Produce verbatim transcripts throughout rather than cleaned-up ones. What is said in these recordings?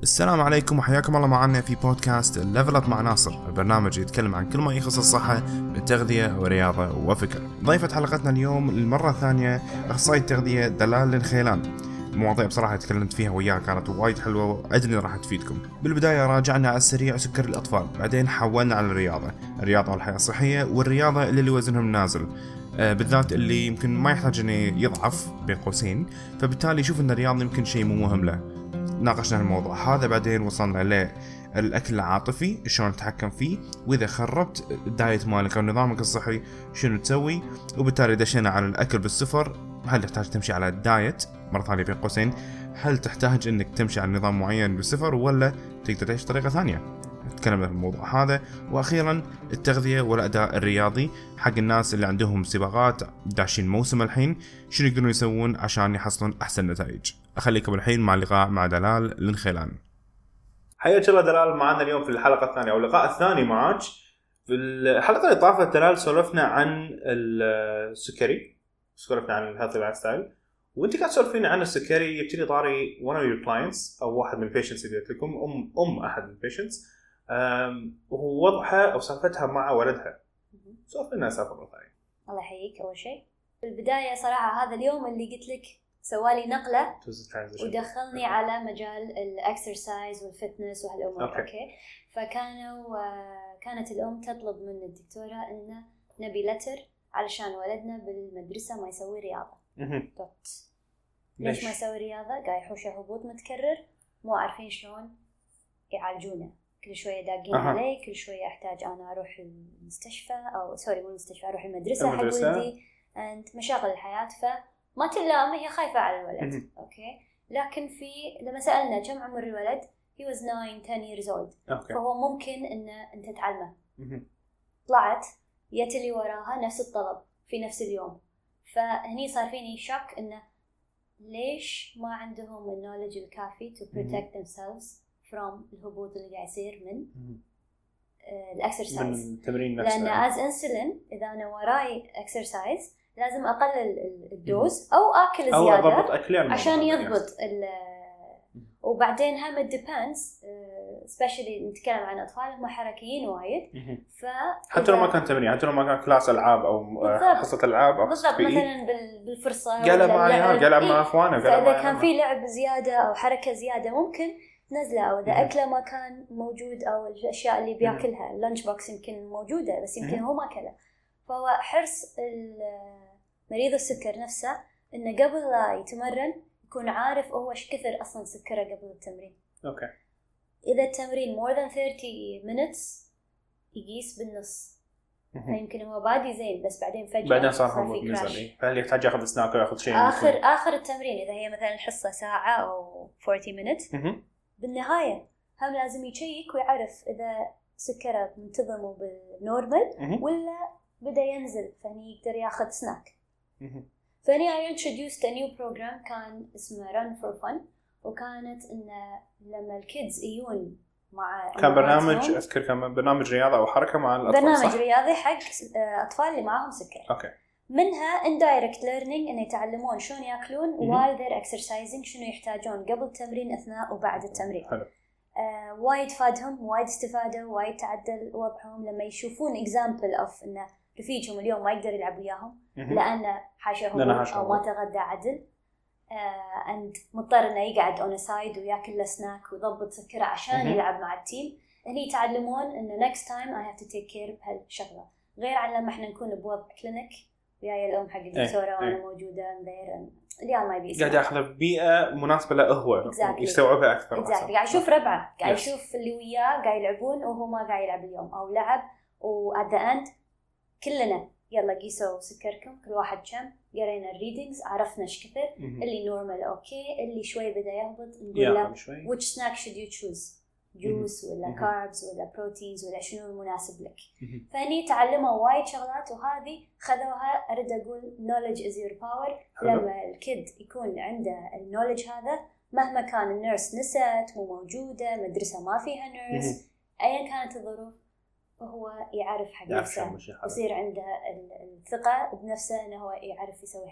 السلام عليكم وحياكم الله معنا في بودكاست ليفل اب مع ناصر، البرنامج يتكلم عن كل ما يخص الصحة من تغذية ورياضة وفكر. ضيفة حلقتنا اليوم للمرة الثانية أخصائي التغذية دلال الخيلان. المواضيع بصراحة تكلمت فيها وياها كانت وايد حلوة وأدري راح تفيدكم. بالبداية راجعنا على السريع سكر الأطفال، بعدين حولنا على الرياضة الرياضة والحياة الصحية، والرياضة اللي, اللي وزنهم نازل، آه بالذات اللي يمكن ما يحتاج أن يضعف بين قوسين، فبالتالي يشوف أن الرياضة يمكن شيء مو مهم له. ناقشنا الموضوع هذا، بعدين وصلنا للأكل العاطفي شلون نتحكم فيه، وإذا خربت الدايت مالك أو نظامك الصحي شنو تسوي، وبالتالي دشينا على الأكل بالسفر. هل تحتاج تمشي على الدايت مرة ثانية بين قوسين؟ هل تحتاج إنك تمشي على نظام معين بالسفر ولا تقدر تعيش طريقة ثانية؟ تكلمنا في الموضوع هذا. وأخيرا التغذية والأداء الرياضي حق الناس اللي عندهم سباقات داشين موسم الحين، شنو يقدرون يسوون عشان يحصلون أحسن نتائج. أخليكم الحين مع اللقاء مع دلال الخيلان. حياك الله دلال معنا اليوم في الحلقة الثانية أو اللقاء الثاني معك. في الحلقة اللي طافت دلال سولفنا عن السكري، سولفنا عن الهيلثي لايف ستايل، وانت قاعد تسولفين عن السكري. يبتدي طاري one of your clients أو واحد من البيشنتس اللي قلت لكم أم أم أحد البيشنتس، وهو وضعها أو سالفتها مع ولدها. سولفنا سالفة مرة ثانية. الله يحييك. أول شيء في البداية صراحة هذا اليوم اللي قلت لك سوالي نقلة ودخلني على مجال الأكسرسايز والفتنس وهالأمور. أوكي. أوكي. فكانوا كانت الأم تطلب من الدكتورة إنه نبي لتر علشان ولدنا بالمدرسة ما يسوي رياضة. دوت. ليش ما يسوي رياضة؟ قاعد يحوشه هبوط متكرر، مو عارفين شلون يعالجونه. كل شوية داقين أه. علي، كل شوية أحتاج أنا أروح المستشفى أو سوري مو المستشفى، أروح المدرسة, المدرسة. حق ولدي أنت مشاغل الحياة، فما تلام هي خايفة على الولد. أوكي. لكن في لما سألنا كم عمر الولد he was nine ten years old. أوكي. فهو ممكن إن أنت تعلمه. طلعت يت اللي وراها نفس الطلب في نفس اليوم، فهني صار فيني شك إنه ليش ما عندهم النولج الكافي to protect themselves from الهبوط اللي قاعد يصير من الأكسرسايز. من التمرين نفسه. لأن as insulin إذا أنا وراي أكسرسايز لازم أقلل الدوز أو أكل زيادة عشان يضبط ال. وبعدين هم depends especially نتكلم عن أطفال هم حركيين وايد، ف حتى لو ما كان تمرين، حتى لو ما كان كلاس ألعاب أو حصة ألعاب أو بالضبط مثلا بالفرصة قال معي قال مع أخوانه، فإذا كان في لعب زيادة أو حركة زيادة ممكن نزله، أو إذا أكله ما كان موجود أو الأشياء اللي بيأكلها اللانش بوكس يمكن موجودة بس يمكن هو ما أكله. فهو حرص مريض السكر نفسه إنه قبل لا يتمرن يكون عارف هو إيش كثر أصلاً سكره قبل التمرين. أوكي. إذا التمرين more than thirty minutes يقيس بالنص، فيمكن هو بادي زين بس بعدين فجأة بعدين صار هو نزل، فهل يحتاج يأخذ سناك أو يأخذ شيء آخر ممكن. آخر التمرين إذا هي مثلاً الحصة ساعة أو forty minutes بالنهاية هم لازم يشيك ويعرف إذا سكره منتظم وبالنورمال ولا بدأ ينزل، فهني يقدر يأخذ سناك. فاني I introduced a new program كان اسمه Run for Fun، وكانت إنه لما الكيدز يجون مع كان برنامج أذكر كان برنامج رياضة أو حركة مع الأطفال، برنامج صح؟ رياضي حق أطفال اللي معهم سكر. أوكي. منها indirect learning إنه يتعلمون شلون يأكلون while they're exercising، شنو يحتاجون قبل التمرين أثناء وبعد التمرين. حلو. آه، وايد فادهم، وايد استفادوا، وايد تعدل وضعهم لما يشوفون example of إنه رفيجهم اليوم ما يقدر يلعب وياهم لأنه حاشهم أو ما تغدى عدل، آه، أنت مضطر إنه يقعد on a side ويأكل له سناك ويضبط سكره عشان يلعب مع التيم. هني يتعلمون إنه next time I have to take care بهالشغلة، غير عن لما إحنا نكون بوضع كلينيك وياي الأم حق الدكتورة وأنا موجودة غير اللي ما يبي يسمع. قاعد يأخذ بيئة مناسبة له هو exactly. يستوعبها أكثر. exactly. قاعد يشوف ربعه، قاعد يشوف yes. اللي وياه قاعد يلعبون وهو ما قاعد يلعب اليوم أو لعب، و at the end كلنا يلا قيسوا سكركم كل واحد كم، قرينا الريدينجز عرفنا ايش كثر، اللي نورمال اوكي، اللي شوي بدا يهبط نقول له which snack should you choose، جوس ولا كاربز ولا بروتينز ولا شنو المناسب لك. فهني تعلموا وايد شغلات، وهذه خذوها أريد أقول knowledge is your power. لما الكيد يكون عنده النولج هذا مهما كان النيرس نسيت مو موجودة، مدرسة ما فيها نيرس، أيا كانت الظروف وهو يعرف حق نفسه، يصير عنده الثقة بنفسه أنه هو يعرف يسوي هالشيء.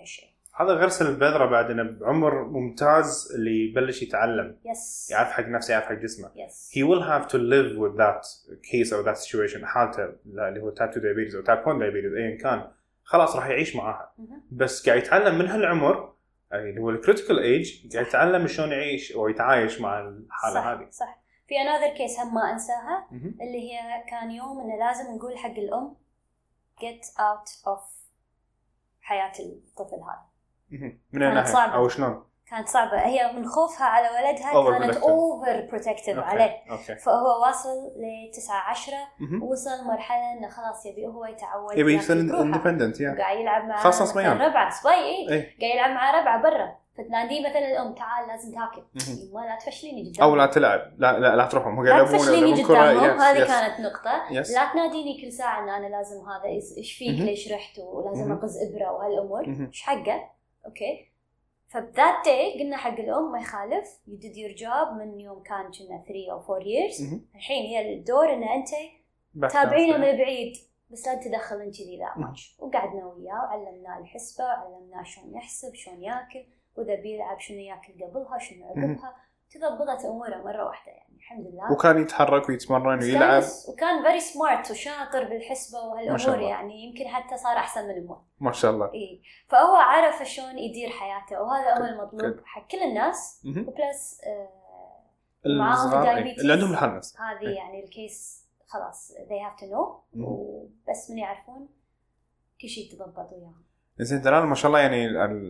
هذا غرس البذرة بعدنا بعمر ممتاز اللي يبلش يتعلم yes. يعرف حق نفسه يعرف حق جسمه yes. he will have to live with that case or that situation حالته اللي هو type two diabetes أو type one diabetes أيا كان خلاص راح يعيش معها mm-hmm. بس قاعد يتعلم من هالعمر اللي هو الكريتيكال ايج قاعد يتعلم شلون يعيش او يتعايش مع الحاله صح هذه صح. في another case هم ما انساها mm-hmm. اللي هي كان يوم انه لازم نقول حق الام get out of حياه الطفل هذا mm-hmm. من الناحيه او شلون كانت صعبة هي من خوفها على ولدها over كانت اوفر بروتكتيف عليه okay. فهو واصل لتسعة عشرة mm-hmm. وصل مرحلة انه خلاص يبي هو يتعود يبي يصير اندبندنت yeah. قاعد يلعب مع خاصة صبيان ربعه صبي ايه قاعد يلعب مع ربعه برا فتناديه مثلا الام تعال لازم تاكل mm-hmm. ما لا تفشليني قدامهم او لا تلعب لا لا لا تروحهم هو لا تفشليني قدامهم هذه yes. كانت نقطة yes. لا تناديني كل ساعة ان انا لازم هذا ايش فيك mm-hmm. ليش رحت ولازم اقز ابرة وهالامور ايش mm-hmm. حقه اوكي فبذات داي قلنا حق الأم ما يخالف you did your job من يوم كان كنا three or four years mm-hmm. الحين هي الدور إن أنت تابعينا من بعيد بس لا تدخل أنت ذي ذا ماتش وقعدنا وياه وعلمناه الحسبة وعلمناه شلون يحسب شلون يأكل وإذا بيلعب شنو يأكل قبلها شنو عقبها تضبطت أموره مرة واحدة يعني الحمد لله وكان يتحرك ويتمرن ويلعب وكان very smart وشاطر بالحسبة وهالأمور يعني يمكن حتى صار أحسن من أمه ما شاء الله إيه فهو عرف شلون يدير حياته وهذا هو المطلوب حق كل الناس وبلس آه معاهم دايبيتيز اللي عندهم الحالة هذه يعني الكيس خلاص they have to know وبس من يعرفون كل شيء تضبط وياهم. زين دلال ما شاء الله يعني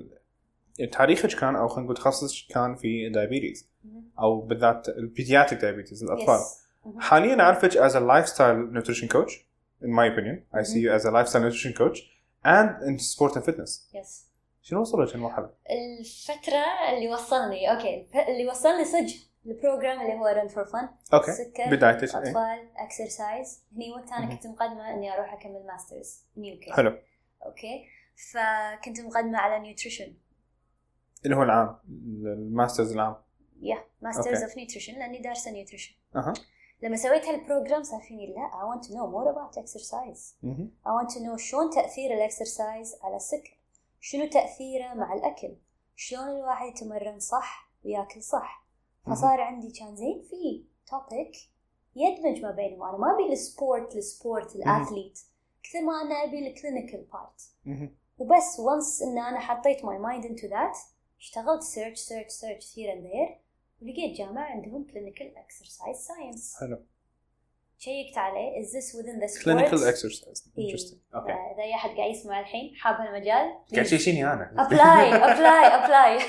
تاريخك كان أو خلينا نقول تخصصك كان في دايبيتيز أو بالذات البيدياتريك دايبيتيز الأطفال. yes. حاليا أعرفك as a lifestyle nutrition coach in my opinion I see you as a lifestyle nutrition coach and in sport and fitness. yes. شنو وصلت المرحلة؟ الفترة اللي وصلني أوكي اللي وصلني صج البروجرام اللي هو run for fun. أوكي. سكر بدايتك. أطفال exercise هني وقت أنا كنت مقدمة إني أروح أكمل ماسترز نيوكي. حلو. أوكي فكنت مقدمة على نيوتريشن. اللي هو العام الماسترز العام. yeah masters okay. of nutrition لأني دارسة nutrition. أها. لما سويت هالبروجرام صار فيني لا I want to know more about exercise. mm-hmm. I want to know شلون تأثير الإكسرسايز على السكر شنو تأثيره مع الأكل شلون الواحد يتمرن صح ويأكل صح فصار mm-hmm. عندي كان زين في topic يدمج ما بينهم أنا ما أبي السبورت السبورت الأثليت mm-hmm. كثر ما أنا أبي الكلينيكال بارت mm-hmm. وبس once إن أنا حطيت my mind into that اشتغلت search search search here and there ولقيت جامعة عندهم clinical exercise science. حلو. شيكت عليه is this within the sport clinical exercise interesting اوكي اذا اي احد قاعد يسمع الحين حاب هالمجال قاعد تشيشيني انا ابلاي ابلاي ابلاي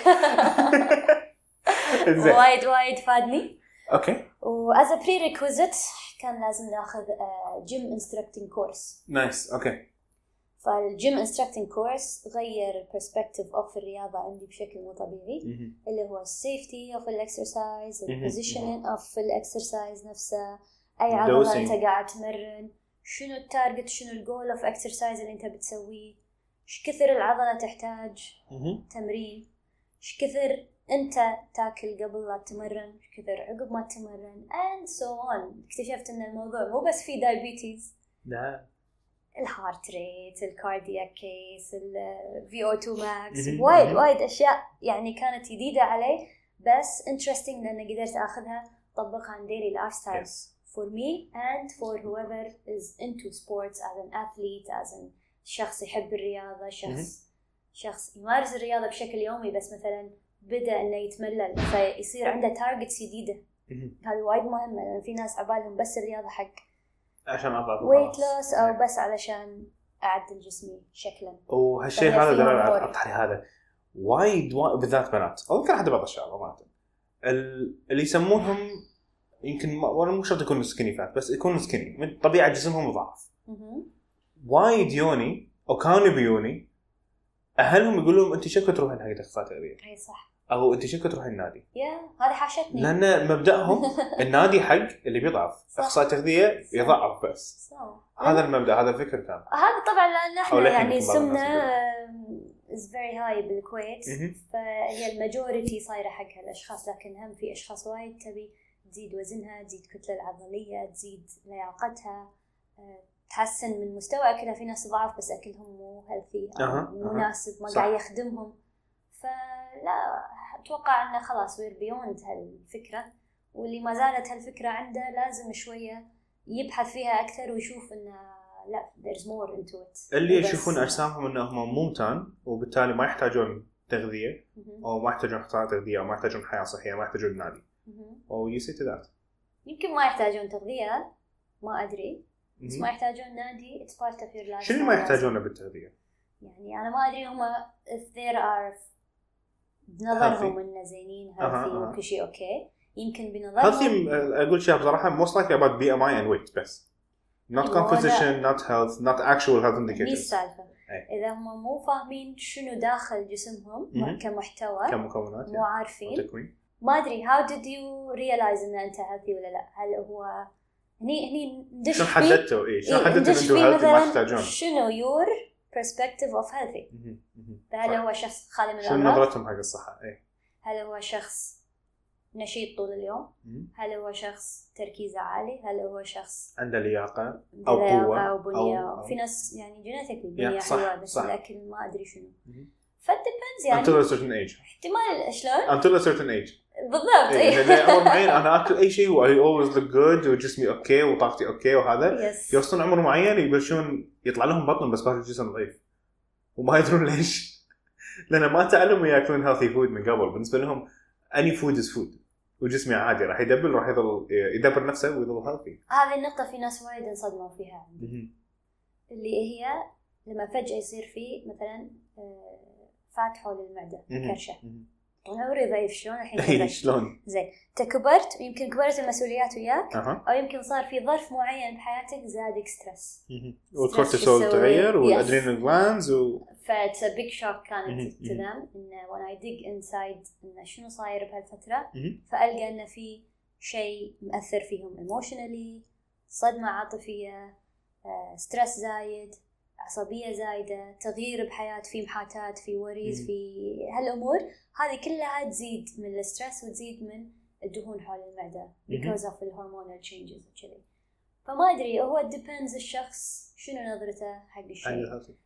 وايد وايد فادني اوكي واز ا prerequisite كان لازم ناخذ جيم انستراكتنج كورس نايس اوكي فالجيم انستراكتنج كورس غير البرسبكتيف اوف الرياضه عندي بشكل مو طبيعي اللي هو السيفتي اوف الاكسرسايز البوزيشنينج اوف الاكسرسايز نفسه اي عضله انت قاعد تمرن شنو التارجت شنو الجول اوف اكسرسايز اللي انت بتسويه ايش كثر العضله تحتاج تمرين ايش كثر انت تاكل قبل لا تمرن ايش كثر عقب ما تمرن and so on اكتشفت ان الموضوع مو بس في دايبيتيز لا الهارت ريت الكاردياك كيس الفي او تو ماكس وايد وايد اشياء يعني كانت جديده علي بس interesting لان قدرت اخذها طبقها عن daily lifestyle yes. for me and for whoever is into sports as an athlete as an شخص يحب الرياضة شخص mm-hmm. شخص يمارس الرياضة بشكل يومي بس مثلا بدأ إنه يتملل فيصير عنده تارجتس جديدة mm-hmm. هذا وايد مهم لأن في ناس عبالهم بس الرياضة حق عشان أضعف weight loss أو yeah. بس علشان أعدل جسمي شكلا وهالشيء هذا دلالة أطحري هذا وايد وايد بالذات بنات أو يمكن حتى بعض الشباب ما اللي يسمونهم يمكن ولا مو شرط يكون سكيني فات بس يكون سكيني من طبيعة جسمهم ضعف وايد يوني أو كانوا بيوني أهلهم يقولون أنت شكو تروحين حق أخصائي تغذية أي صح أو أنت شكو تروحين النادي يا هذه حاشتني لأن مبدأهم النادي حق اللي بيضعف أخصائي تغذية يضعف بس صح. هذا المبدأ هذا الفكر كان هذا طبعا لأن إحنا يعني سمنا is very high بالكويت فهي الماجوريتي صايرة حق هالأشخاص لكن هم في أشخاص وايد تبي تزيد وزنها تزيد كتلة العضلية تزيد لياقتها تحسن من مستوى أكلها في ناس ضعف بس أكلهم مو healthy أو أه. مناسب ما قاعد يخدمهم لا اتوقع انه خلاص وير بيوند هالفكره، واللي ما زالت هالفكره عنده لازم شويه يبحث فيها اكثر ويشوف انه لا there's more into it. اللي يشوفون اجسامهم انهم ممتان وبالتالي ما يحتاجون تغذيه او ما يحتاجون قطاع تغذيه او ما يحتاجون حياه صحيه، ما يحتاجون نادي او you say to that. يمكن ما يحتاجون تغذيه، ما ادري، بس ما يحتاجون نادي. it's part of your life. شنو ما يحتاجونه بالتغذيه؟ يعني انا ما ادري هم if there are بنظرهم انه زينين healthy وكل شيء اوكي، يمكن بنظرهم healthy اقول شيء بصراحه most likely about B M I and weight بس not composition not health not actual health indicators. مي السالفة إذا هم مو فاهمين شنو داخل جسمهم كمحتوى كمكونات مو عارفين ما أدري how did you realize إن أنت healthy ولا لا. هل هو هني هني ندش شو حددته إيه شو حددته إنه healthy ما تحتاجون شنو your perspective of healthy. هل هو شخص خالي من الأمراض؟ شو نظرتهم حق الصحة إيه؟ هل هو شخص نشيط طول اليوم؟ هل هو شخص تركيزه عالي؟ هل هو شخص عنده لياقة أو قوة أو بنية؟ أو في ناس يعني جينيتيكلي بنية حلوة بس صح. الأكل ما أدري شنو. فالديبنز يعني until a certain age. احتمال شلون؟ until a certain age. بالضبط. إيه لأن عمر معين أنا أكل أي شيء و I always look good وجسمي أوكي وطاقتي أوكي وهذا. yes. يوصلون عمر معين يبلشون يطلع لهم بطن بس باقي الجسم ضعيف وما يدرون ليش. لأن ما تعلموا يأكلون healthy food من قبل. بالنسبة لهم any food is food. وجسمي عادي راح يدبر راح يضل يدبر نفسه ويضل هيلثي. هذه النقطة في ناس وايد انصدموا فيها عندي. اللي هي لما فجأة يصير في مثلا فات حول المعدة كرشة. طول عمري ضعيف شلون الحين شلون؟ زين تكبرت ويمكن كبرت المسؤوليات وياك أه. أو يمكن صار في ظرف معين بحياتك زادك ستريس. والكورتيسول تغير والأدرينال جلاندز و فit's a big shock كانت to them إنه when I dig inside إنه شنو صاير بهالفترة فألقى إنه في شيء مؤثر فيهم emotionally، صدمة عاطفية، ستريس زايد، عصبية زايدة، تغيير بحياة، في محاتات، في وريز، في هالأمور هذه كلها تزيد من الستريس وتزيد من الدهون حول المعدة because of the hormonal changes وكذي. فما أدري هو depends الشخص شنو نظرته حق الشيء.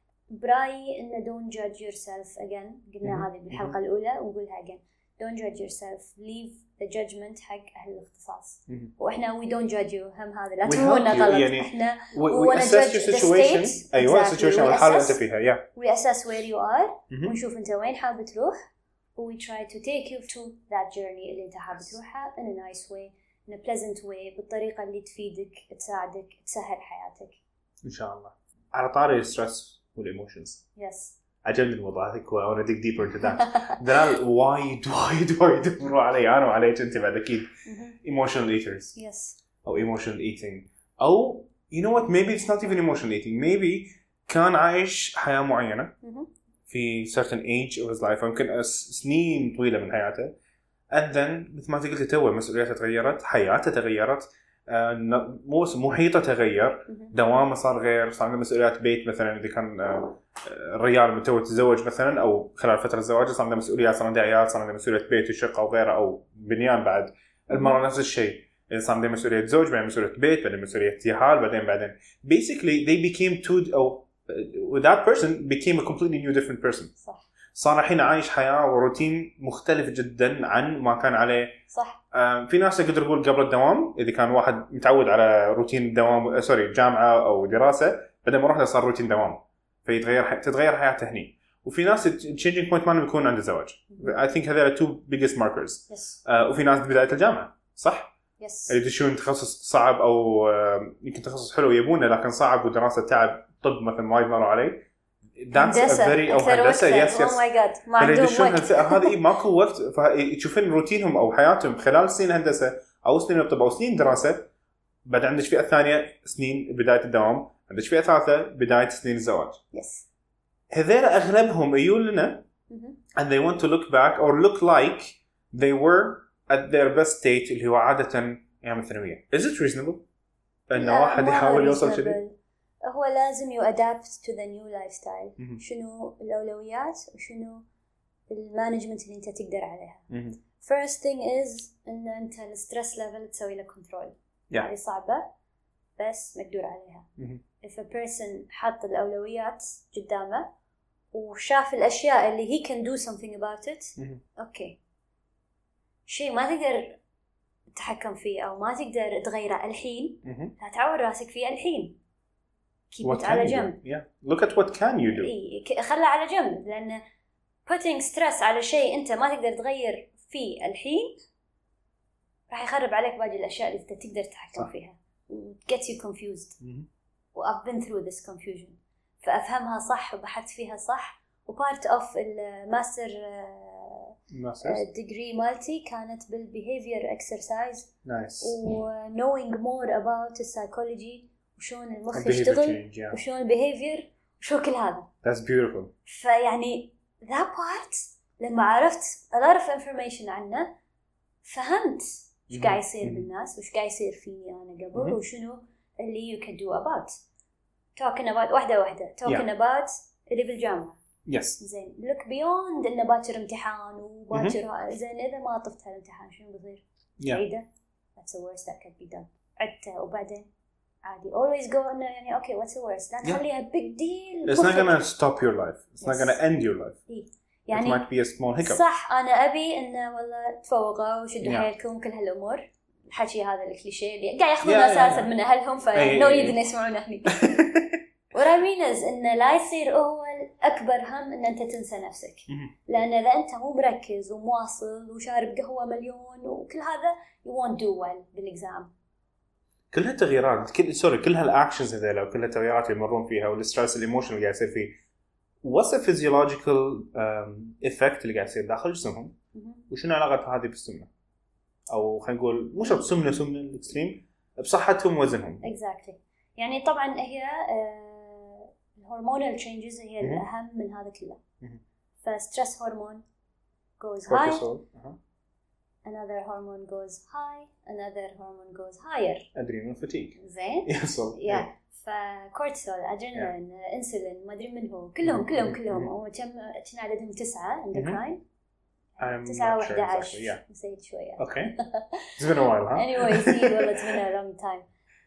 برايي إنه don't judge yourself again قلنا هذه بالحلقة الأولى ونقولها again don't judge yourself leave the judgment حق أهل الاختصاص. وإحنا we don't judge you هم هذا لا تفهمونا غلط. يعني إحنا we, we assess your situation أيوة exactly. situation والحالة أنت فيها yeah. we assess where you are ونشوف أنت وين حابب تروح و we try to take you to that journey اللي أنت حابب تروحها in a nice way in a pleasant way بالطريقة اللي تفيدك تساعدك تسهل حياتك إن شاء الله. على طاري الستريس والإيموشنز yes. عجبني الموضوع هذا I want to dig deeper into that. دلال وايد وايد وايد يدوروا علي أنا وعليك أنت بعد أكيد emotional eaters yes. أو emotional eating أو you know what maybe it's not even emotional eating maybe كان عايش حياة معينة في certain age of his life يمكن سنين طويلة من حياته and then مثل ما قلت توه مسؤولياته تغيرت حياته تغيرت مو محيطه تغير دوامه صار غير صار عنده مسؤوليات بيت مثلا اذا كان الرجال متزوج تزوج مثلا او خلال فتره الزواج صار عنده مسؤوليات صار عنده عيال صار عنده مسؤوليه بيت وشقه وغيره او بنيان بعد المراه نفس الشيء اذا صار عنده مسؤوليه زوج بعدين مسؤوليه بيت بعدين مسؤوليه يهال بعدين بعدين basically they became two او that person became a completely new different person صح صار الحين عايش حياة وروتين مختلف جدا عن ما كان عليه صح. في ناس يقدر يقول قبل الدوام إذا كان واحد متعود على روتين الدوام سوري جامعة أو دراسة بعدين ما رحنا صار روتين دوام فيتغير تتغير حياته هني وفي ناس changing point ما يكون عنده زواج I think هذول two biggest markers yes. uh, وفي ناس بداية الجامعة صح yes. اللي يدشون تخصص صعب أو uh, يمكن تخصص حلو يبونه لكن صعب ودراسة تعب طب مثلا ما يمروا عليه that's a very أو هندسة yes yes oh my god ما عندهم وقت هذه ماكو وقت فتشوفين روتينهم أو حياتهم خلال سنين هندسة أو سنين الطب أو سنين دراسة بعد عندك فئة ثانية سنين بداية الدوام عندك فئة ثالثة بداية سنين الزواج yes. هذول أغلبهم يقول لنا and they want to look back or look like they were at their best state اللي هو عادة أيام الثانوية is it reasonable إن واحد يحاول يوصل شيء هو لازم you adapt to the new lifestyle mm-hmm. شنو الأولويات وشنو المانجمنت اللي أنت تقدر عليها mm-hmm. first thing is إن أنت الستريس level تسوي له control yeah. هذه صعبة بس مقدور عليها mm-hmm. if a person حط الأولويات قدامه وشاف الأشياء اللي he can do something about it أوكي شيء ما تقدر تتحكم فيه أو ما تقدر تغيره الحين لا تعور راسك فيه الحين keep it على جنب yeah. look at what can you do إيه خلها على جنب لأن putting stress على شيء أنت ما تقدر تغير فيه الحين راح يخرب عليك باقي الأشياء اللي أنت تقدر تتحكم فيها get you confused و I've been through this confusion فأفهمها صح وبحثت فيها صح و part of الماستر degree مالتي كانت بالbehavior exercise nice. و knowing more about psychology وشون المخ يشتغل yeah. وشون behavior وشو كل هذا that's beautiful فيعني that part لما عرفت a lot of information عنه فهمت وش قاعد يصير بالناس وش قاعد يصير فيني أنا قبل وشنو اللي you can do about talking about واحدة واحدة talking yeah. about اللي بالجامعة yes. زين look beyond إنه باكر امتحان وباكر زين إذا ما طفت هالامتحان شنو بيصير yeah. عيدة that's the worst that could be done عدته وبعدين عادي always go إنه يعني okay what's the worst لا تخليها yeah. big deal it's not gonna stop your life it's yes. not gonna end your life إيه. يعني it might be a small hiccup صح أنا أبي إنه والله تفوقوا وشدوا yeah. حيلكم كل هالأمور الحكي هذا الكليشيه اللي قاعد ياخذون ناس أساسا من أهلهم فنو يدري يسمعون هني ورامينز إنه لا يصير هو الأكبر هم إن أنت تنسى نفسك لأن إذا أنت مو مركز ومواصل وشارب قهوة مليون وكل هذا you won't do well بالإكزام كلها تغييرات كل سوري كل هالأكشنز هذيلا وكل التغييرات اللي يمرون فيها والستريس الإيموشن اللي قاعد يصير فيه what's the physiological um, effect اللي قاعد يصير داخل جسمهم وشنو علاقة هذه بالسمنة أو خلينا نقول مش بسمنة سمنة الإكستريم بصحتهم ووزنهم exactly يعني طبعا هي الهرمونال changes هي الأهم من هذا كله فستريس هرمون goes high uh-huh. another hormone goes high another hormone goes higher adrenal fatigue زين يحصل yeah فكورتيسول ادرينالين انسولين ما ادري من هو كلهم كلهم كلهم وكم كنا عددهم تسعة اندوكراين تسعة وأحد عشر نسيت شوية okay it's been a while huh anyway see والله it's been a long time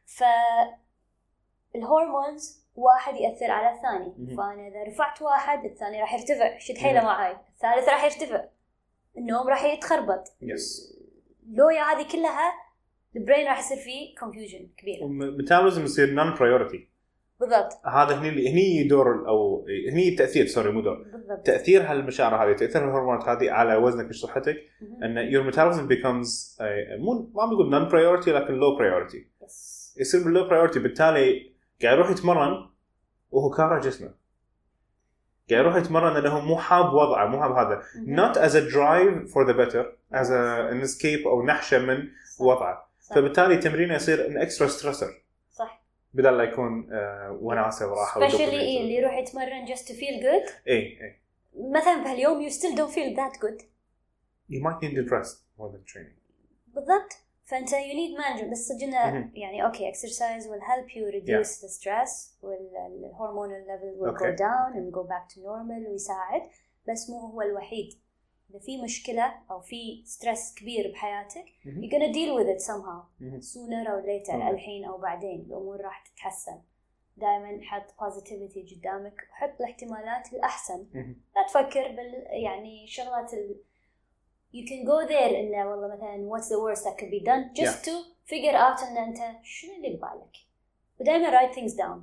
فالهرمونز واحد يأثر على الثاني فأنا إذا رفعت واحد الثاني راح يرتفع شد حيله معاي الثالث راح يرتفع النوم راح يتخربط yes. لويا هذه كلها البرين راح يصير فيه confusion كبير ميتابوليزم يصير non priority بالضبط هذا هني هني دور أو هني تأثير سوري مو دور بالضبط. تأثير هالمشاعر هذه تأثير الهرمونات هذه على وزنك وصحتك أن your metabolism becomes مو ما بنقول non priority لكن low priority yes. يصير بالlow priority بالتالي قاعد يروح يتمرن وهو كاره جسمه قاعد يروح يتمرن لأنه مو حاب وضعه مو حاب هذا not as a drive for the better as a, an escape أو نحشة من صح. وضعه صح. فبالتالي تمرينه يصير an extra stressor صح بدل لا يكون آه وناسة وراحة especially إيه اللي يروح يتمرن just to feel good إيه إيه مثلا بهاليوم you still don't feel that good you might need to rest more than training بالضبط فأنت you need management بس صدقنا يعني okay exercise will help you reduce yeah. the stress وال hormonal level will okay. go down and go back to normal ويساعد بس مو هو الوحيد إذا في مشكلة أو في stress كبير بحياتك mm-hmm. you're gonna deal with it somehow mm-hmm. sooner or later mm-hmm. الحين أو بعدين الأمور راح تتحسن دائما حط positivity قدامك وحط الاحتمالات الأحسن mm-hmm. لا تفكر بال يعني شغلات ال you can go there إنه والله مثلا what's the worst that could be done just yeah. to figure out إن أنت شنو اللي ببالك ودائما write things down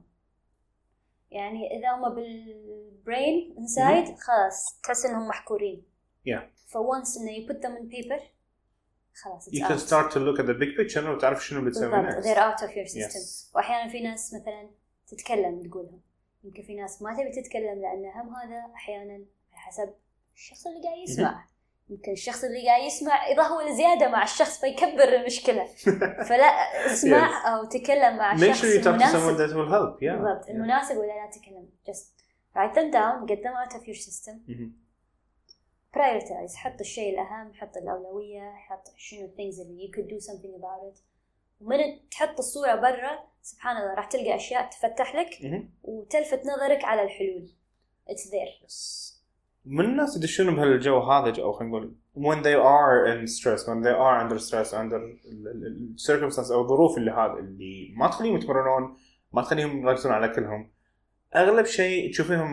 يعني إذا هم بالbrain inside mm-hmm. خلاص تحس إنهم محكورين yeah. for once إنه you put them in paper خلاص you can start to look at the big picture وتعرف شنو بتسوي next they're out of your system yes. وأحيانا في ناس مثلا تتكلم تقولهم يمكن في ناس ما تبي تتكلم لأن هم هذا أحيانا حسب الشخص اللي قاعد يسمع mm-hmm. يمكن الشخص اللي قاعد يسمع يضهول زيادة مع الشخص فيكبر المشكلة فلا اسمع yes. أو تكلم مع الشخص المناسب that will help. yeah. بالضبط yeah. المناسب ولا لا تكلم just write them down get them out of your system mm-hmm. prioritize حط الشيء الأهم حط الأولوية حط شنو things اللي you could do something about it ومن تحط الصورة برا سبحان الله راح تلقى أشياء تفتح لك mm-hmm. وتلفت نظرك على الحلول it's there yes. من الناس يدشون بهالجو هذا أو خلينا نقول when they are in stress when they are under stress under circumstances أو ظروف اللي هذا اللي ما تخليهم يتمرنون ما تخليهم يركزون على كلهم أغلب شيء تشوفهم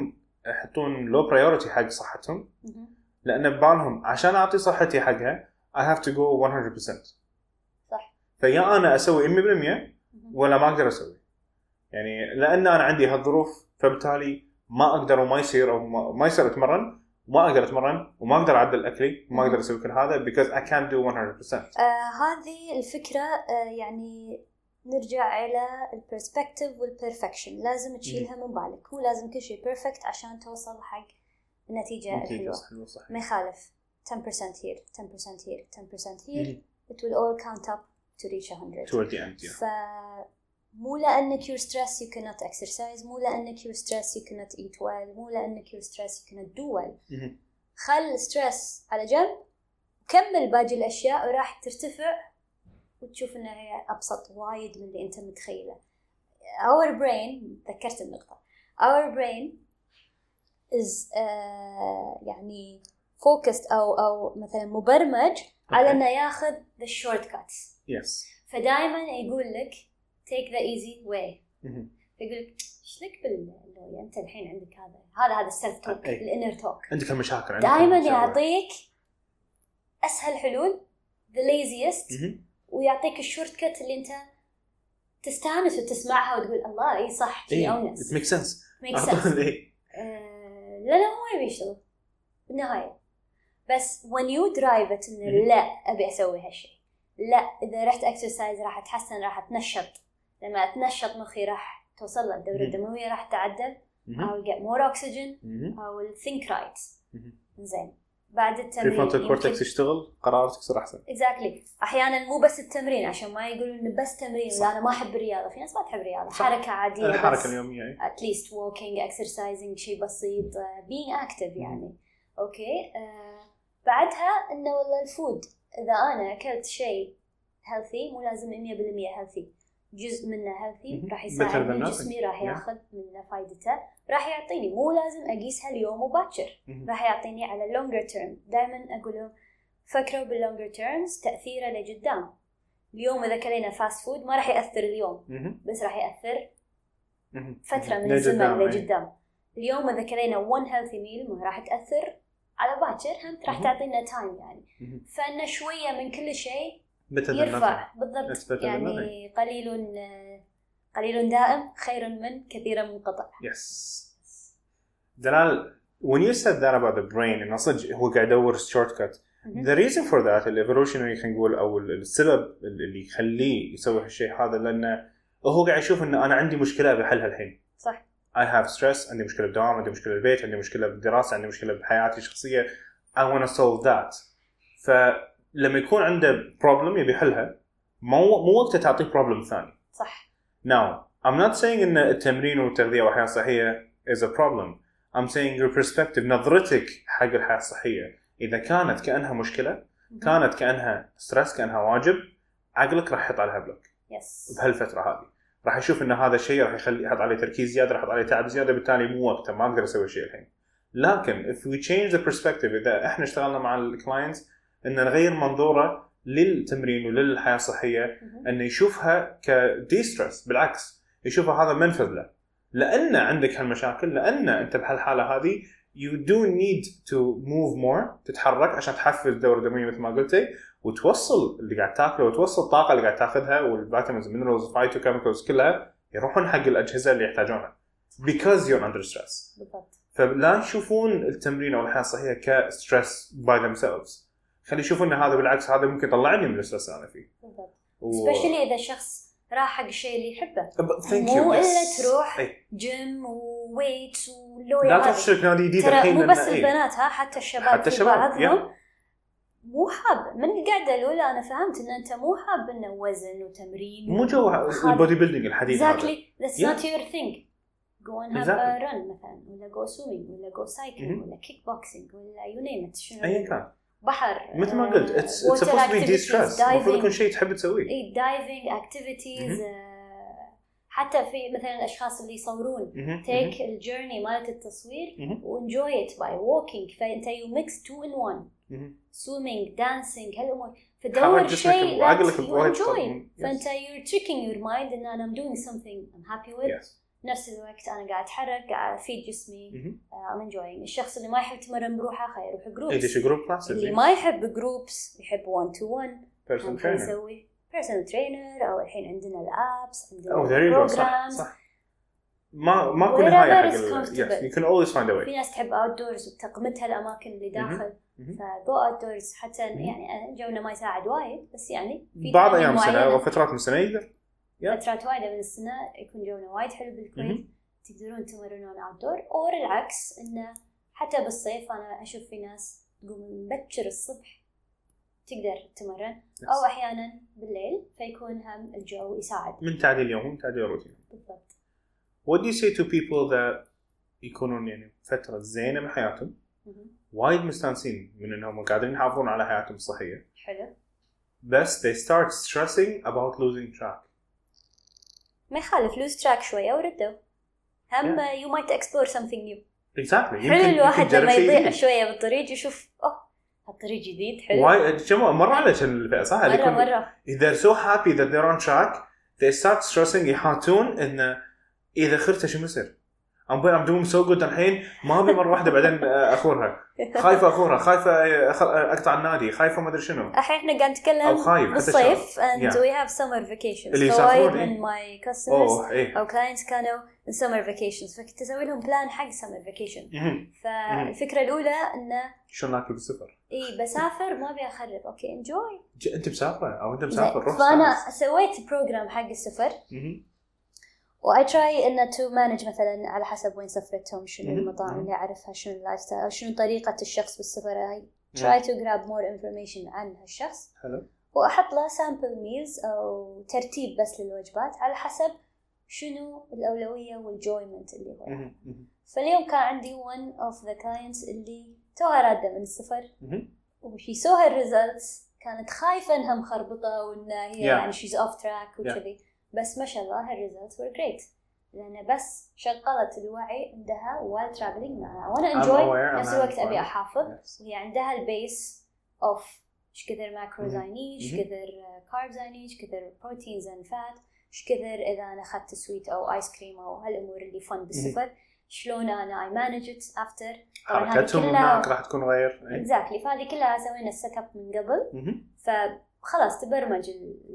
يحطون لو برايورتي حق صحتهم، لان ببالهم عشان اعطي صحتي حقها I have to go one hundred percent. صح. فيا انا اسوي مية بالمية ولا ما اقدر اسوي، يعني لان انا عندي هالظروف فبالتالي ما اقدر وما يصير او ما, ما يصير اتمرن وما اقدر اتمرن وما اقدر اعدل اكلي وما اقدر اسوي كل هذا because I can't do one hundred percent. آه هذه الفكره آه يعني نرجع الى البرسبكتيف والبرفكشن، لازم تشيلها من بالك. مو لازم كل شيء بيرفكت عشان توصل حق النتيجه الحلوه. ما يخالف ten percent here ten percent here ten percent here it will all count up to reach one hundred toward the end. ف مو لأنك you're stressed you cannot exercise، مو لأنك you're stressed you cannot eat well، مو لأنك you're stressed you cannot do well. خل stress على جنب، كمل باقي الأشياء وراح ترتفع وتشوف إنها هي أبسط وايد من اللي أنت متخيله. our brain، ذكرت النقطة، our brain is uh, يعني focused أو أو مثلا مبرمج okay. على إنه ياخذ the shortcuts. yes. فدائما يقول لك take the easy way. يقول لك إيش لك بالله أنت الحين عندك هذا هذا هذا السلف توك الانر توك، عندك المشاكل، دائما يعطيك أسهل حلول the laziest ويعطيك الشورت كت اللي أنت تستانس وتسمعها وتقول الله إيه صح شيء أونس it makes sense makes sense. آه لا لا هو يبي يشتغل بالنهاية، بس when you drive it إنه لا أبي أسوي هالشيء، لا إذا رحت exercise راح أتحسن، راح أتنشط، لما أتنشط مخي راح توصل له الدورة الدموية راح تعدل، I'll get more oxygen, I will think right. زين بعد التمرين prefrontal cortex يشتغل، قراراتك تصير أحسن. exactly. أحيانا مو بس التمرين عشان ما يقولون إنه بس تمرين ولا أنا ما أحب الرياضة، في ناس ما تحب الرياضة، حركة عادية الحركة اليومية at least walking exercising شيء بسيط uh, being active يعني أوكي. uh, بعدها إنه والله الفود إذا أنا أكلت شيء healthy مو لازم مية بالمية healthy، جزء منه healthy راح يساعدني جسمي راح ياخذ منه فايدته، راح يعطيني مو لازم أقيسها اليوم وباكر، راح يعطيني على longer term. دائما أقوله فكروا بالlonger terms تأثيره لقدام. اليوم إذا كلينا fast food ما راح يأثر اليوم بس راح يأثر فترة من الزمن لقدام. اليوم إذا كلينا one healthy meal ما راح تأثر على باكر، هم راح تعطينا time يعني. فإن شوية من كل شيء يرفع بالضبط يعني قليل قليل دائم خير من كثير منقطع. yes. دلال when you said that about the brain إنه صدق هو قاعد يدور shortcut the reason for that evolutionary خلينا نقول أو السبب اللي يخليه يسوي هالشيء هذا لأنه هو قاعد يشوف إنه أنا عندي مشكلة بحلها الحين. صح. I have stress، عندي مشكلة بالدوام، عندي مشكلة بالبيت، عندي مشكلة بالدراسة، عندي مشكلة بحياتي الشخصية I want to solve that. فلما يكون عنده problem يبي يحلها مو مو وقت تعطيه problem ثاني. صح. Now I'm not saying إن التمرين والتغذية والحياة الصحية is a problem. I'm saying your perspective، نظرتك حق الحياة الصحية إذا كانت كأنها مشكلة، كانت كأنها stress، كأنها واجب، عقلك راح يحط عليها بلوك. yes. بهالفترة هذه راح يشوف إن هذا الشيء راح يخلي يحط عليه تركيز زيادة، راح يحط عليه تعب زيادة، بالتالي مو وقته، ما أقدر أسوي شيء الحين. لكن if we change the perspective، إذا إحنا اشتغلنا مع الكلاينتس إن نغير منظوره للتمرين وللحياة الصحية، إنه يشوفها كدي ستريس، بالعكس يشوفها هذا منفذ له، لأن عندك هالمشاكل، لأن أنت بهالحالة هذه you do need to move more، تتحرك عشان تحفز الدورة الدموية مثل ما قلتي، وتوصل اللي قاعد تاكله وتوصل الطاقة اللي قاعد تاخذها والفيتامينز والمينرالز والفايتوكيميكالز كلها يروحون حق الأجهزة اللي يحتاجونها because you're under stress. بالضبط. فلا يشوفون التمرين أو الحياة الصحية كستريس by themselves، خلي يشوفون إن هذا بالعكس هذا ممكن يطلعني من الستريس اللي أنا فيه. بالضبط. و... especially إذا شخص راح حق الشيء اللي يحبه، مو إلا تروح جيم وويت ولويا. لا تفشلك نادي جديد الحين، مو بس البنات ها حتى الشباب، حتى الشباب بعضهم مو حاب من القعدة الأولى. أنا فهمت إن أنت مو حاب إنه وزن وتمرين، مو جو البودي بيلدينج الحديث هذا. exactly that's yeah. not your thing. go and have exactly. a run مثلا، ولا go swimming، ولا go cycling، mm-hmm. ولا kick boxing، ولا you name it. شنو أي كان بحر مثل ما قلت it's, it's supposed to be de-stress، المفروض يكون شيء تحب تسويه. إيه diving activities. mm-hmm. uh, حتى في مثلا الأشخاص اللي يصورون mm-hmm. take mm-hmm. الجيرني مالت التصوير mm-hmm. وenjoy it by walking، فأنت you mix two in one. mm-hmm. swimming dancing هالأمور، فدور شيء that you enjoy. فأنت you're tricking your mind إن أنا I'm doing something I'm happy with. yes. نفس الوقت أنا قاعد أتحرك قاعد أفيد جسمي I'm enjoying. الشخص اللي ما يحب يتمرن بروحه خير يروح جروبس. إيش جروب كلاس؟ اللي ما يحب جروبس يحب one to one personal trainer. يسوي personal trainer أو الحين عندنا الابس عندنا programs. صح صح. ما ما كل نهاية حق ال yes you can always find a way. في ناس تحب outdoors وتقمتها الأماكن اللي داخل فجو outdoors حتى يعني جونا ما يساعد وايد بس يعني في بعض أيام السنة وفترات من السنة يقدر فترات وايدة من السنة يكون جونا وايد حلو بالكويت تقدرون تمرنون outdoor أو العكس إنه حتى بالصيف أنا أشوف في ناس تقوم مبكر الصبح تقدر تمرن أو أحيانا بالليل فيكون هم الجو يساعد من تعديل يوم تعديل روتين. بالضبط. What do you say to people that يكونون يعني فترة زينة من حياتهم وايد مستانسين من إنهم قاعدين يحافظون على حياتهم الصحية حلو بس they start stressing about losing track. ما يخالف lose track شوية وردوا هم yeah. you might explore something new. Exactly. حلو الواحد لما يضيع شوية بالطريق يشوف أوه هالطريق جديد حلو. وايد كم مرة على كان الفئة صح؟ مرة مرة. They're so happy that they're on track they start stressing يحاتون إن إذا خرت شو مسر I'm I'm doing so good الحين ما أبي مرة واحدة بعدين أخورها خايفة أخورها خايفة أقطع النادي خايفة ما أدري شنو. الحين إحنا قاعد نتكلم بالصيف and yeah. we have summer vacations. اللي يسافرون من my customers oh, إيه. أو clients كانوا in summer vacations فكنت أسوي لهم plan حق summer vacation. فالفكرة الأولى إنه شو ناكل بالسفر. إيه بسافر ما أبي أخرب أوكي enjoy. أنت مسافرة أو أنت مسافر روح. فأنا سويت program حق السفر. و I try إنه to manage مثلاً على حسب وين سفرتهم شنو المطاعم اللي أعرفها شنو اللايف ستايل شنو طريقة الشخص بالسفر هاي try to grab more information عن هالشخص حلو وأحط له sample meals أو ترتيب بس للوجبات على حسب شنو الأولوية والjoyment اللي هو. فاليوم كان عندي one of the clients اللي توها رادة من السفر وشي saw her results كانت خايفة إنها مخربطة وإنها هي يعني she's off track وكذي بس ما شاء الله her results were great لأن بس شغلت الوعي عندها while traveling معنا وأنا enjoy نفس الوقت أبي أحافظ yes. وهي عندها البيس of إيش كثر macros I need إيش كثر carbs I need إيش كثر proteins and fat إيش كثر إذا أنا أخذت سويت أو آيس كريم أو هالأمور اللي fun بالسفر شلون أنا I manage it after حركتهم هناك راح تكون غير exactly فهذه كلها سوينا السيت اب من قبل فخلاص تبرمج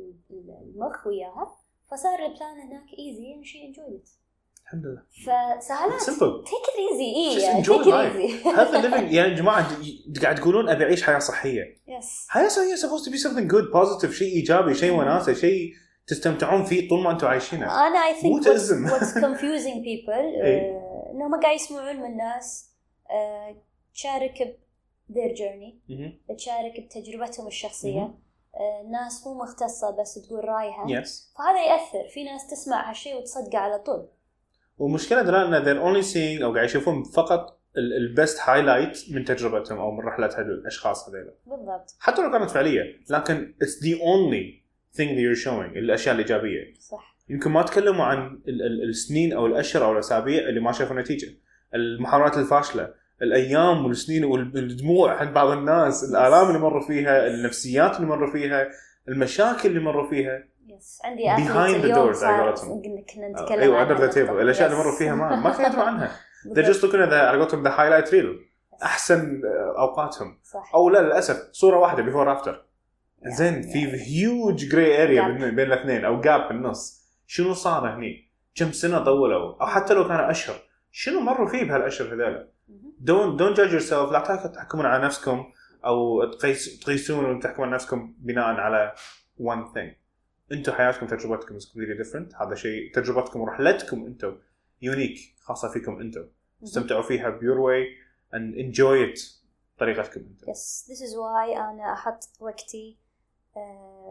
المخ وياها فصار البلان هناك easy and she enjoyed it. الحمد لله. فسهلات. simple. take it easy. إيه. يعني take it easy. هذا living يعني جماعة قاعد تقولون أبي أعيش حياة صحية. Yes. حياة صحية supposed to be something good, positive, شيء إيجابي, شيء وناسة, شيء تستمتعون فيه طول ما أنتم عايشينه. أنا I think what's, what's confusing people uh, إنهم قاعد يسمعون من الناس uh, تشارك ب their journey, تشارك بتجربتهم الشخصية. الناس مو مختصة بس تقول رأيها yes. فهذا يأثر في ناس تسمع هالشيء وتصدقه على طول ومشكلة دلالة أن they're only seeing أو قاعد يشوفون فقط البست هايلايت من تجربتهم أو من رحلة الأشخاص هذيلا بالضبط حتى لو كانت فعلية لكن it's the only thing that you're showing الأشياء الإيجابية صح يمكن ما تكلموا عن السنين أو الأشهر أو الأسابيع اللي ما شافوا نتيجة المحاولات الفاشلة الأيام والسنين والدموع عند بعض الناس الآلام اللي مروا فيها النفسيات اللي مروا فيها المشاكل اللي مروا فيها يس عندي behind the doors عقلتهم كنا نتكلم أيوة under the table الأشياء اللي مروا فيها ما ما كانوا يدروا عنها they're just looking at the عقلتهم the highlight reel أحسن أوقاتهم صح. أو لا للأسف صورة واحدة before after زين في huge grey area بين الاثنين أو gap بالنص شنو صار هني كم سنة طولوا أو حتى لو كانوا أشهر شنو مروا فيه بهالأشهر هذول don't don't judge yourself لا تحكمون على نفسكم أو تقيس تقيسون وتحكمون على نفسكم بناء على one thing أنتوا حياتكم تجربتكم is completely different هذا شيء تجربتكم ورحلتكم أنتوا unique خاصة فيكم أنتوا استمتعوا فيها b your way and enjoy it طريقتكم أنتوا yes this is why أنا أحط وقتي uh,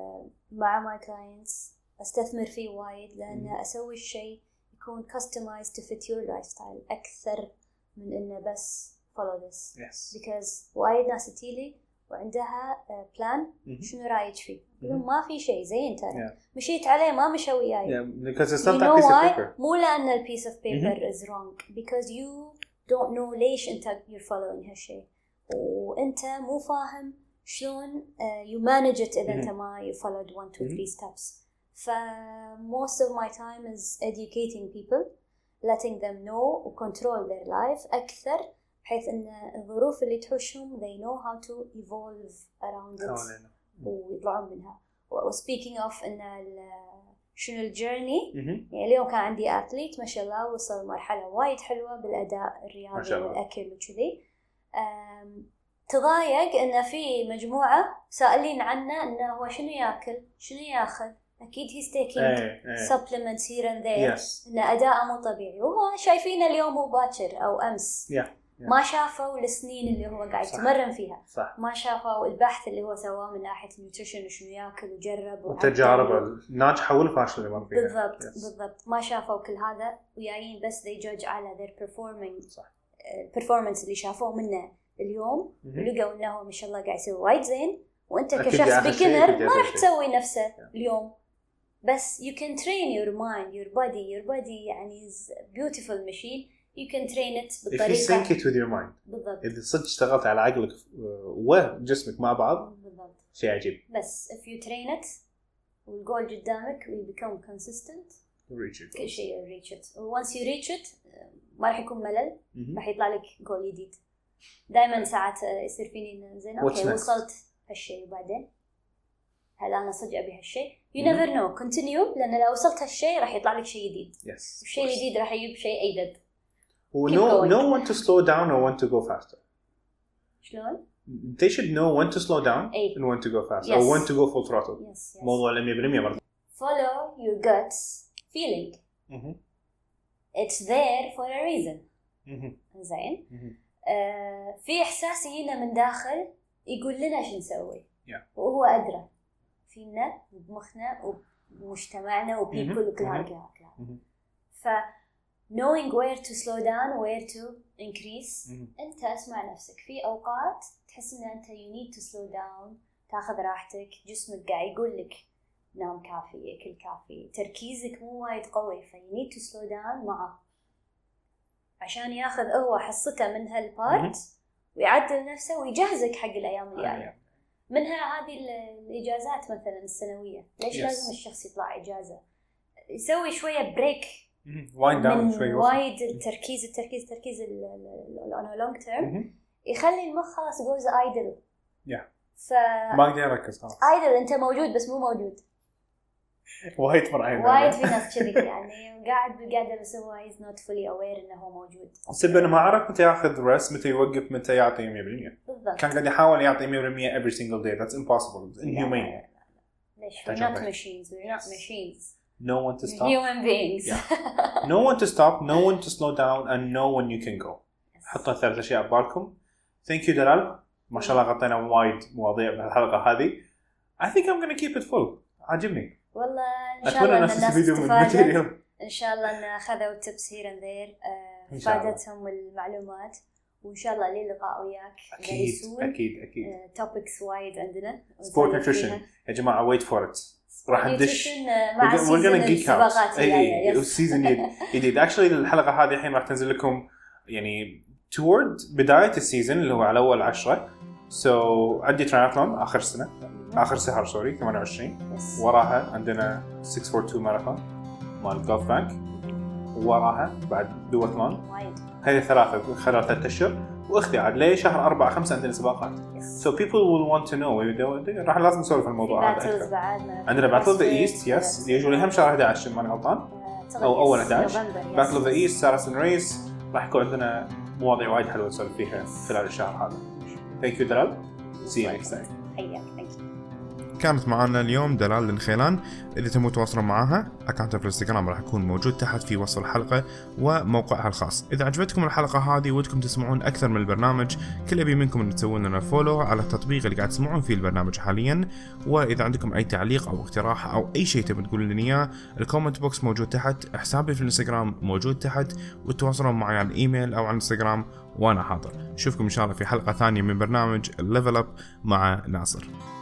مع my clients أستثمر فيه وايد لأن mm. أسوي الشيء يكون customized to fit your lifestyle أكثر من إنه بس follow this yes. because وايد ناس تيلي وعندها بلان uh, شنو رايك فيه يقولون ما في شيء زين ترى yeah. مشيت عليه ما مشى وياي yeah, because it's not that piece of paper مو لأن ال piece of paper mm-hmm. is wrong because you don't know ليش أنت you're following هالشيء وأنت مو فاهم شلون uh, you manage it إذا mm-hmm. أنت ما you followed one two three mm-hmm. steps ف most of my time is educating people letting them know و control their life أكثر بحيث أن الظروف اللي تحوشهم they know how to evolve around it ويطلعون منها. و speaking of أن شنو الجيرني يعني اليوم كان عندي أثليت ما شاء الله وصل مرحلة وايد حلوة بالأداء الرياضي والأكل وكذي. تضايق أن في مجموعة سائلين عنه أنه هو شنو يأكل شنو يأخذ. أكيد he's taking أي أي. supplements here and there yes. إن أداءه مو طبيعي وهو شايفينه اليوم مو باكر أو أمس yeah. Yeah. ما شافوا السنين اللي هو قاعد يتمرن فيها صح. ما شافوا البحث اللي هو سواه من ناحية النيوتريشن وشنو يأكل وجرب وتجارب الناجحة والفاشلة اللي مر فيها بالضبط yes. بالضبط ما شافوا كل هذا ويايين بس they judge على their performing صح. performance اللي شافوه منه اليوم ولقوا إنه ما شاء الله قاعد يسوي وايد زين وأنت كشخص beginner ما راح تسوي نفسه yeah. اليوم بس you can train your mind your body your body يعني is beautiful machine you can train it بالطريقة if you sync it with your mind بالضبط إذا صدق اشتغلت على عقلك وجسمك مع بعض بالضبط شيء عجيب بس if you train it والجول قدامك will become consistent reach it كل شيء reach it once you reach it ما راح يكون ملل راح يطلع لك جول جديد دائما ساعات يصير فيني زين اوكي وصلت هالشيء وبعدين هل أنا صدق أبي هالشيء you never know continue لأن لو وصلت هالشيء راح يطلع لك شيء جديد yes. الشيء الجديد راح يجيب شيء أيدد know know when to slow down or when to go faster شلون they should know when to slow down أي. and when to go faster yes. or when to go full throttle yes, yes. موضوع مية بالمية برضه follow your guts feeling mm-hmm. it's there for a reason mm-hmm. زين mm-hmm. آه في إحساس يجينا من داخل يقول لنا شو نسوي yeah. وهو أدرى فينا وبمخنا ومجتمعنا وبيبل وكل هذا الكلام ف knowing where to slow down where to increase mm-hmm. أنت اسمع نفسك في أوقات تحس إن أنت you need to slow down تأخذ راحتك جسمك قاعد يقول لك نام كافي أكل كافي تركيزك مو وايد قوي ف you need to slow down معه عشان ياخذ هو حصته من هالبارت mm-hmm. ويعدل نفسه ويجهزك حق الأيام الجاية yeah. منها هذه الإجازات مثلا السنوية ليش yes. لازم الشخص يطلع إجازة يسوي شوية بريك وايد داون شوي وايد التركيز التركيز التركيز on a long term يخلي المخ خلاص goes idle yeah. ف ما أقدر أركز خلاص idle أنت موجود بس مو موجود وايد فرعين وايد في ناس كذي يعني قاعد بالقعدة بس هو is not fully aware إنه هو موجود سبب إنه ما عرف متى يأخذ ريست متى يوقف متى يعطي مية بالمية بالضبط كان قاعد يحاول يعطي مية بالمية every single day that's impossible it's inhumane ليش we're not machines we're not machines know when to stop human beings yeah. know when to stop know when to slow down and know when you can go حطوا ثلاث أشياء ببالكم thank you دلال ما شاء الله غطينا وايد مواضيع بهالحلقة هذه I think I'm gonna keep it full عجبني والله إن شاء الله الناس استفادت إن شاء الله إن أخذوا tips here and there فادتهم المعلومات وإن شاء الله لي لقاء وياك أكيد أكيد أكيد uh, topics وايد عندنا sport nutrition يا جماعة wait for it راح ندش مع السيزن السباقات الجاية السيزن جديد actually الحلقة هذه الحين راح تنزل لكم يعني toward بداية السيزن اللي هو على أول عشرة so عندي ترايثلون آخر سنة آخر شهر سوري ثمانية وعشرين yes. وراها عندنا ستة فور تو ماراثون مال جولف بانك وراها بعد دواتلون هذه ثلاثة خلال ثلاثة أشهر وأختي عاد ليه شهر أربعة خمسة عندنا سباقات yes. so people will want to know راح لازم نسولف الموضوع هذا أكثر عندنا Battle of the East yes usually هم شهر أحد عشر ماني غلطان أو أول أحد عشر Battle of the East Saracen Race راح يكون عندنا مواضيع وايد حلوة نسولف فيها خلال الشهر هذا thank you دلال see you next time كانت معنا اليوم دلال الخيلان. إذا تبون تواصلون معها أكاونتها في الانستغرام راح يكون موجود تحت في وصف الحلقة وموقعها الخاص. إذا عجبتكم الحلقة هذه ودكم تسمعون أكثر من البرنامج كل أبي منكم أن تسوون لنا فولو على التطبيق اللي قاعد تسمعون فيه البرنامج حاليا. وإذا عندكم أي تعليق أو اقتراح أو أي شيء تبون تقولون لنا إياه الكومنت بوكس موجود تحت، حسابي في الانستغرام موجود تحت، وتواصلون معي على الإيميل أو على الانستغرام وأنا حاضر. نشوفكم إن شاء الله في حلقة ثانية من برنامج Level Up مع ناصر.